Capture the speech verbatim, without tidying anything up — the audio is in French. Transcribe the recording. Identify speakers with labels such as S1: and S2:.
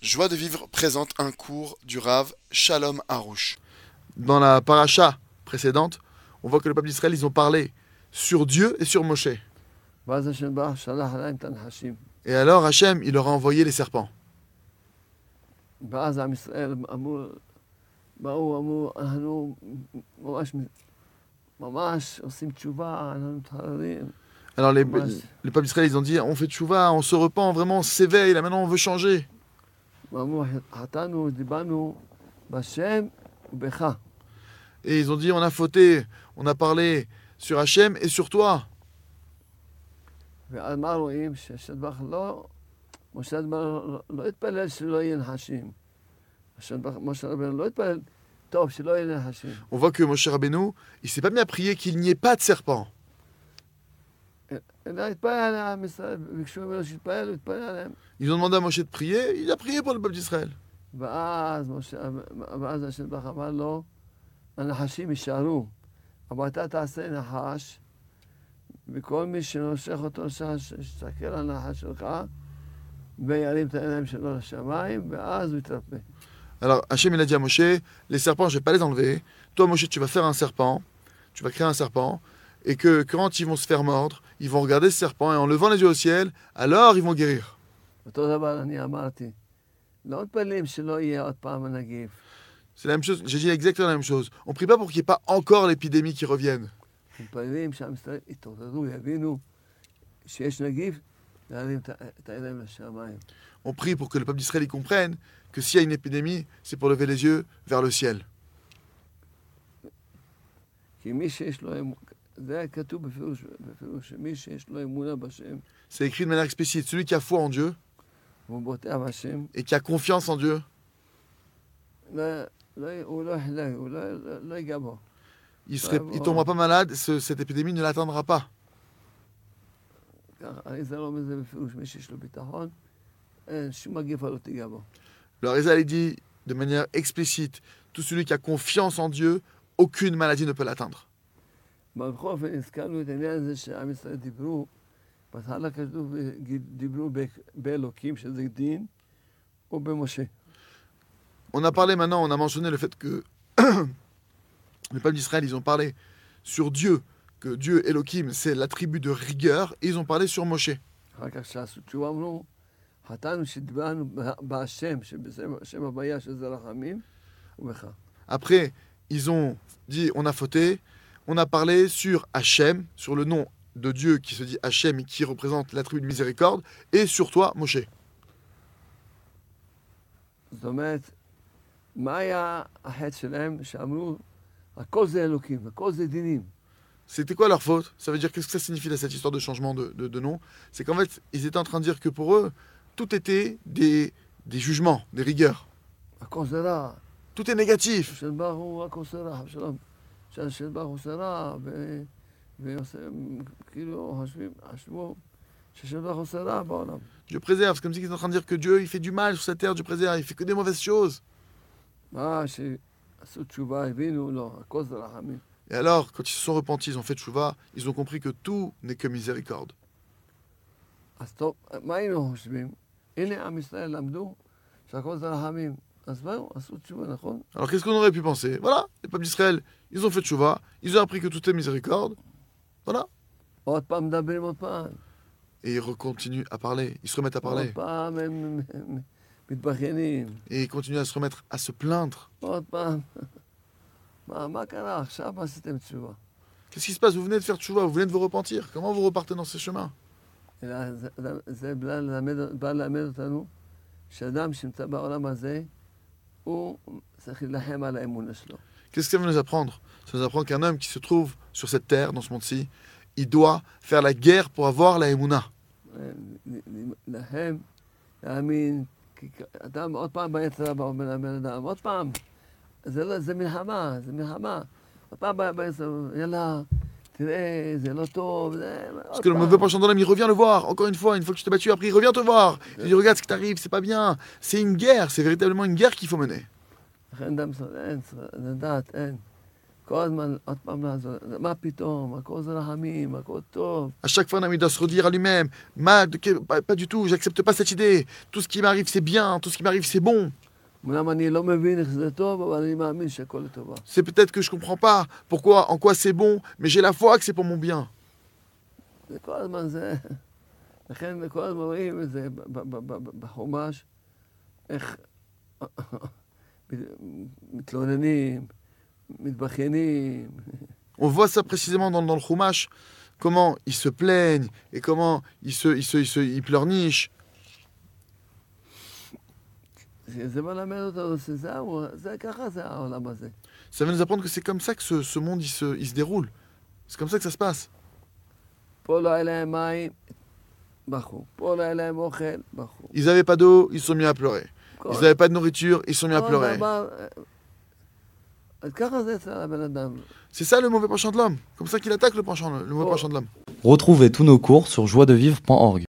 S1: Joie de vivre présente un cours du Rav Shalom Harouche.
S2: Dans la paracha précédente, on voit que le peuple d'Israël, ils ont parlé sur Dieu et sur Moshe. Et alors Hachem, il leur a envoyé les serpents. Alors les, les peuples d'Israël, ils ont dit, on fait tchouva, on se repent, vraiment, on s'éveille, là maintenant on veut changer. Et ils ont dit, on a fauté, on a parlé sur Hachem et sur toi. On voit que Moshe Rabbeinu, il s'est pas mis à prier qu'il n'y ait pas de serpent. Ils ont demandé à Moshe de prier, il a prié pour le peuple d'Israël. Alors Hachem il a dit à Moshe, les serpents je vais pas les enlever, toi Moshe tu vas faire un serpent, tu vas créer un serpent, et que quand ils vont se faire mordre, ils vont regarder ce serpent et en levant les yeux au ciel, alors ils vont guérir. C'est la même chose, j'ai dit exactement la même chose. On ne prie pas pour qu'il n'y ait pas encore l'épidémie qui revienne. On prie pour que le peuple d'Israël y comprenne que s'il y a une épidémie, c'est pour lever les yeux vers le ciel. C'est écrit de manière explicite. Celui qui a foi en Dieu et qui a confiance en Dieu, il ne tombera pas malade, ce, cette épidémie ne l'atteindra pas. Le Rizal dit de manière explicite, tout celui qui a confiance en Dieu, aucune maladie ne peut l'atteindre. On a parlé maintenant, on a mentionné le fait que le peuple d'Israël, ils ont parlé sur Dieu, que Dieu, Elohim, c'est l'attribut de rigueur, et ils ont parlé sur Moshe. Après, ils ont dit, on a fauté, on a parlé sur Hachem, sur le nom de Dieu qui se dit Hachem et qui représente l'attribut de miséricorde, et sur toi, Moshe. C'était quoi leur faute? Ça veut dire, qu'est-ce que ça signifie là, cette histoire de changement de, de, de nom? C'est qu'en fait, ils étaient en train de dire que pour eux, tout était des, des jugements, des rigueurs. Tout est négatif. Dieu préserve, c'est comme si ils étaient en train de dire que Dieu il fait du mal sur cette terre, Dieu préserve, il fait que des mauvaises choses. Et alors, quand ils se sont repentis, ils ont fait tchouva, ils ont compris que tout n'est que miséricorde. Alors qu'est-ce qu'on aurait pu penser? Voilà, les peuples d'Israël, ils ont fait tchouva, ils ont appris que tout est miséricorde. Voilà. Et ils continuent à parler, ils se remettent à parler. Et ils continuent à se remettre à se plaindre. Qu'est-ce qui se passe? Vous venez de faire tchouva, vous venez de vous repentir. Comment vous repartez dans ce chemin? Qu'est-ce que ça veut nous apprendre? Ça nous apprend qu'un homme qui se trouve sur cette terre, dans ce monde-ci, il doit faire la guerre pour avoir la émouna. Parce que le mauvais penchant dans l'homme, il revient le voir. Encore une fois, une fois que tu t'es battu, après il revient te voir. Il dit regarde ce qui t'arrive, c'est pas bien. C'est une guerre, c'est véritablement une guerre qu'il faut mener.
S3: כל הזמן עוד פעם לעזור, מה פתאום, הכל זה רחמים, הכל טוב.
S2: À chaque fois, un ami doit se redire à lui-même, Ma, de que- pas, pas du tout, j'accepte pas cette idée. Tout ce qui m'arrive, c'est bien, tout ce qui m'arrive, c'est bon.
S3: אמנם אני לא מבין איך זה טוב, אבל אני מאמין שהכל לטובה.
S2: C'est peut-être que je comprends pas pourquoi, en quoi c'est bon, mais j'ai la foi que c'est pour mon bien.
S3: זה כל הזמן זה, לכן כל הזמן רואים את זה ב- ב- ב- ב- בחומש, איך מתלוננים, מתבכיינים.
S2: On voit ça précisément dans, dans le Chumash, comment ils se plaignent et comment ils, se, ils, se, ils, se, ils pleurnichent.
S3: זה מלמד אותנו שזהו, זה ככה זה העולם הזה.
S2: Ça va nous apprendre que c'est comme ça que ce, ce monde il se, il se déroule. C'est comme ça que ça se passe.
S3: פה לא היה להם מים, בכו. פה לא היה להם אוכל, בכו.
S2: Ils n'avaient pas d'eau, ils se sont mis à pleurer.
S3: כל-
S2: Ils n'avaient pas de nourriture, ils se sont mis à
S3: כל
S2: pleurer.
S3: דבר, אז ככה זה אצל הבן אדם.
S2: C'est ça le mauvais penchant de l'homme. Comme ça qu'il attaque le, penchant, le mauvais
S3: Oh.
S2: penchant de l'homme.
S4: Retrouvez tous nos cours sur joie de vivre point org.